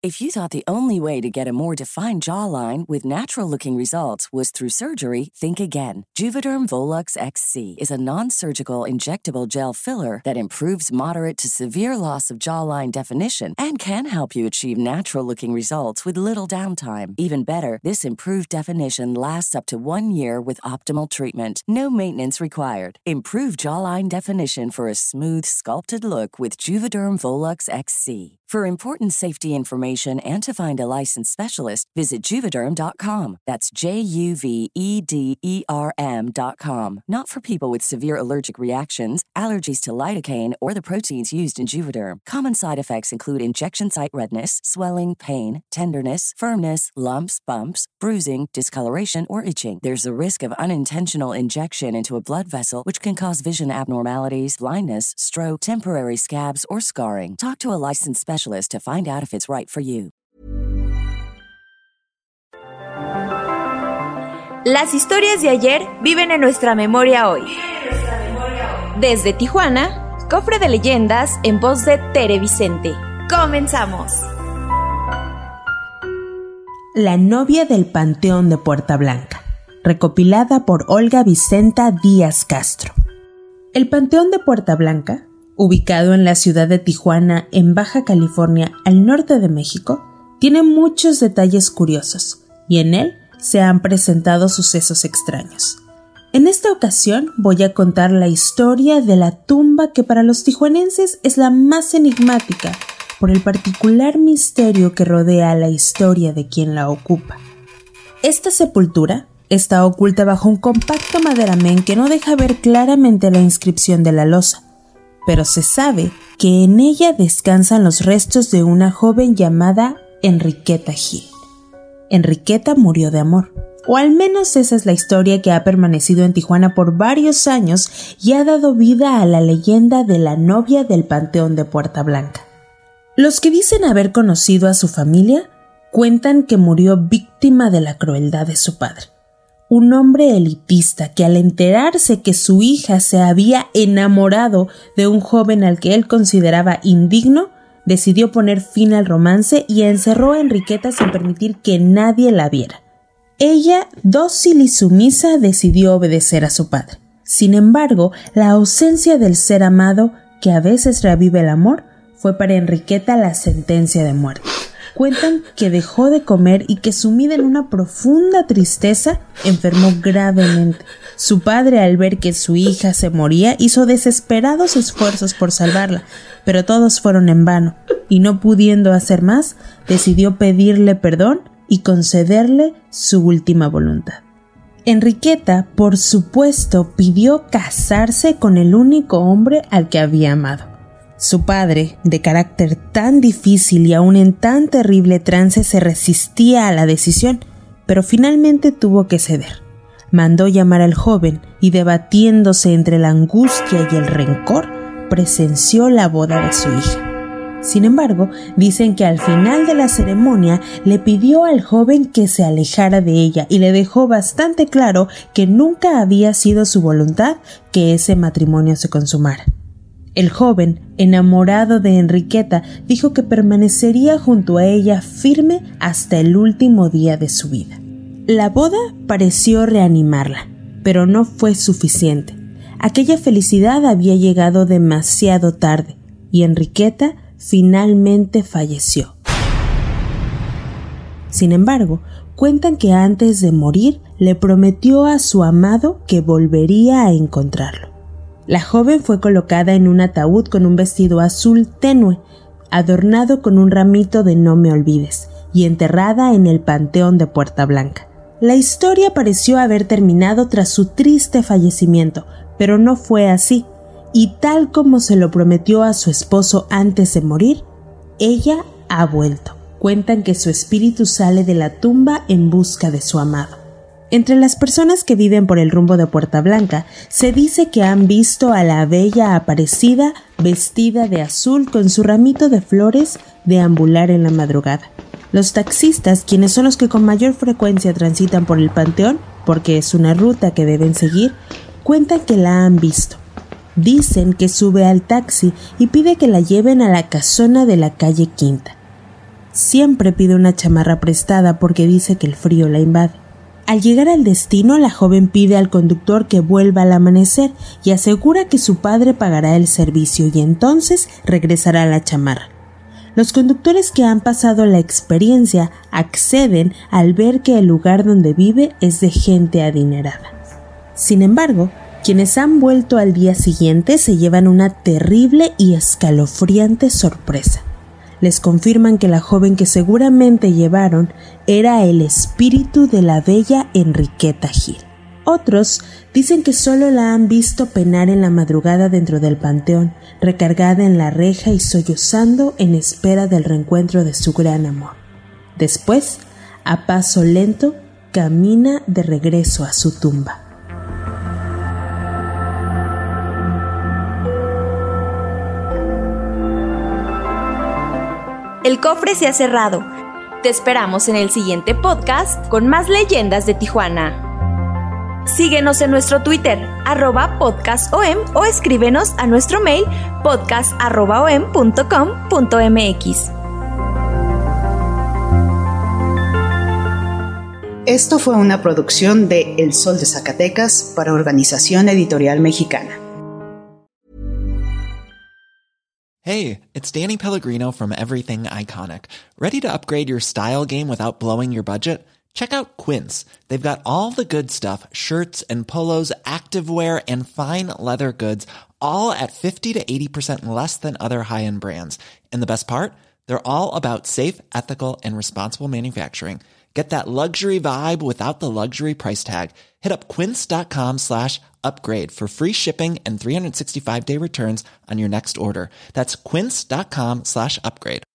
If you thought the only way to get a more defined jawline with natural-looking results was through surgery, think again. Juvederm Volux XC is a non-surgical injectable gel filler that improves moderate to severe loss of jawline definition and can help you achieve natural-looking results with little downtime. Even better, this improved definition lasts up to 1 year with optimal treatment. No maintenance required. Improve jawline definition for a smooth, sculpted look with Juvederm Volux XC. For important safety information and to find a licensed specialist, visit Juvederm.com. That's Juvederm.com. Not for people with severe allergic reactions, allergies to lidocaine, or the proteins used in Juvederm. Common side effects include injection site redness, swelling, pain, tenderness, firmness, lumps, bumps, bruising, discoloration, or itching. There's a risk of unintentional injection into a blood vessel, which can cause vision abnormalities, blindness, stroke, temporary scabs, or scarring. Talk to a licensed specialist to find out if it's right for you. Las historias de ayer viven en nuestra memoria hoy. Desde Tijuana, Cofre de Leyendas en voz de Tere Vicente. ¡Comenzamos! La novia del Panteón de Puerta Blanca, recopilada por Olga Vicenta Díaz Castro. El Panteón de Puerta Blanca, ubicado en la ciudad de Tijuana, en Baja California, al norte de México, tiene muchos detalles curiosos, y en él se han presentado sucesos extraños. En esta ocasión voy a contar la historia de la tumba que para los tijuanenses es la más enigmática, por el particular misterio que rodea la historia de quien la ocupa. Esta sepultura está oculta bajo un compacto maderamen que no deja ver claramente la inscripción de la losa, pero se sabe que en ella descansan los restos de una joven llamada Enriqueta Gil. Enriqueta murió de amor, o al menos esa es la historia que ha permanecido en Tijuana por varios años y ha dado vida a la leyenda de la novia del Panteón de Puerta Blanca. Los que dicen haber conocido a su familia cuentan que murió víctima de la crueldad de su padre, un hombre elitista que al enterarse que su hija se había enamorado de un joven al que él consideraba indigno, decidió poner fin al romance y encerró a Enriqueta sin permitir que nadie la viera. Ella, dócil y sumisa, decidió obedecer a su padre. Sin embargo, la ausencia del ser amado, que a veces revive el amor, fue para Enriqueta la sentencia de muerte. Cuentan que dejó de comer y que, sumida en una profunda tristeza, enfermó gravemente. Su padre, al ver que su hija se moría, hizo desesperados esfuerzos por salvarla, pero todos fueron en vano, y no pudiendo hacer más, decidió pedirle perdón y concederle su última voluntad. Enriqueta, por supuesto, pidió casarse con el único hombre al que había amado. Su padre, de carácter tan difícil y aún en tan terrible trance, se resistía a la decisión, pero finalmente tuvo que ceder. Mandó llamar al joven y, debatiéndose entre la angustia y el rencor, presenció la boda de su hija. Sin embargo, dicen que al final de la ceremonia le pidió al joven que se alejara de ella y le dejó bastante claro que nunca había sido su voluntad que ese matrimonio se consumara. El joven, enamorado de Enriqueta, dijo que permanecería junto a ella firme hasta el último día de su vida. La boda pareció reanimarla, pero no fue suficiente. Aquella felicidad había llegado demasiado tarde y Enriqueta finalmente falleció. Sin embargo, cuentan que antes de morir le prometió a su amado que volvería a encontrarlo. La joven fue colocada en un ataúd con un vestido azul tenue, adornado con un ramito de no me olvides, y enterrada en el Panteón de Puerta Blanca. La historia pareció haber terminado tras su triste fallecimiento, pero no fue así, y tal como se lo prometió a su esposo antes de morir, ella ha vuelto. Cuentan que su espíritu sale de la tumba en busca de su amado. Entre las personas que viven por el rumbo de Puerta Blanca, se dice que han visto a la bella Aparecida vestida de azul con su ramito de flores deambular en la madrugada. Los taxistas, quienes son los que con mayor frecuencia transitan por el panteón, porque es una ruta que deben seguir, cuentan que la han visto. Dicen que sube al taxi y pide que la lleven a la casona de la calle Quinta. Siempre pide una chamarra prestada porque dice que el frío la invade. Al llegar al destino, la joven pide al conductor que vuelva al amanecer y asegura que su padre pagará el servicio y entonces regresará la chamarra. Los conductores que han pasado la experiencia acceden al ver que el lugar donde vive es de gente adinerada. Sin embargo, quienes han vuelto al día siguiente se llevan una terrible y escalofriante sorpresa. Les confirman que la joven que seguramente llevaron era el espíritu de la bella Enriqueta Gil. Otros dicen que solo la han visto penar en la madrugada dentro del panteón, recargada en la reja y sollozando en espera del reencuentro de su gran amor. Después, a paso lento, camina de regreso a su tumba. El cofre se ha cerrado. Te esperamos en el siguiente podcast con más leyendas de Tijuana. Síguenos en nuestro Twitter, @podcastom, o escríbenos a nuestro mail podcast@om.com.mx. Esto fue una producción de El Sol de Zacatecas para Organización Editorial Mexicana. Hey, it's Danny Pellegrino from Everything Iconic. ¿Ready to upgrade your style game without blowing your budget? Check out Quince. They've got all the good stuff, shirts and polos, activewear, and fine leather goods, all at 50 to 80% less than other high-end brands. And the best part? They're all about safe, ethical, and responsible manufacturing. Get that luxury vibe without the luxury price tag. Hit up quince.com/upgrade for free shipping and 365-day returns on your next order. That's quince.com/upgrade.